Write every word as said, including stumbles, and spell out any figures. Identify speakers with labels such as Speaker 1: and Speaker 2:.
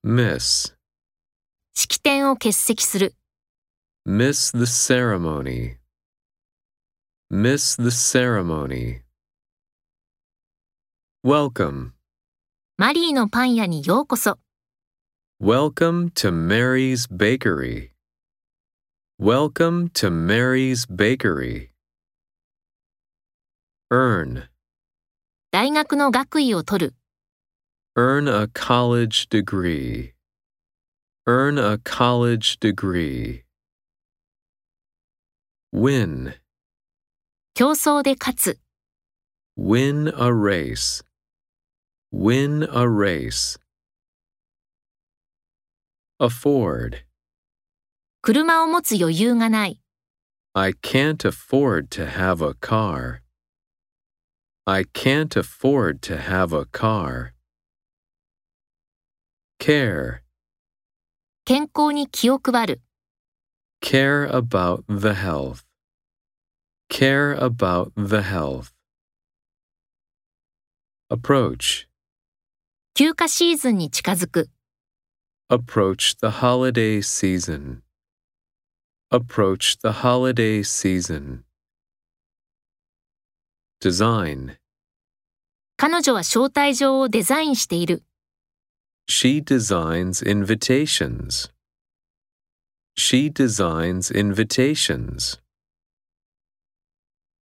Speaker 1: Miss.
Speaker 2: 式典を欠席する。
Speaker 1: Miss the ceremony. Miss the ceremony. Welcome.
Speaker 2: マリーのパン屋にようこそ。
Speaker 1: Welcome to Mary's Bakery. Welcome to Mary's Bakery. Earn.
Speaker 2: 大学の学位を取る。
Speaker 1: Earn a college degree. Earn a college degree. Win.
Speaker 2: 競争で勝つ。
Speaker 1: Win a race. Win a race. Afford.
Speaker 2: 車を持つ余裕がない。
Speaker 1: I can't afford to have a car. I can't afford to have a car. Care.
Speaker 2: 健康に気を配る。
Speaker 1: Care about the health. Care about the health. Approach.
Speaker 2: 休暇シーズンに近づく。
Speaker 1: Approach the holiday season. Approach the holiday season. Design.
Speaker 2: 彼女は招待状をデザインしている。
Speaker 1: She designs invitations. She designs invitations.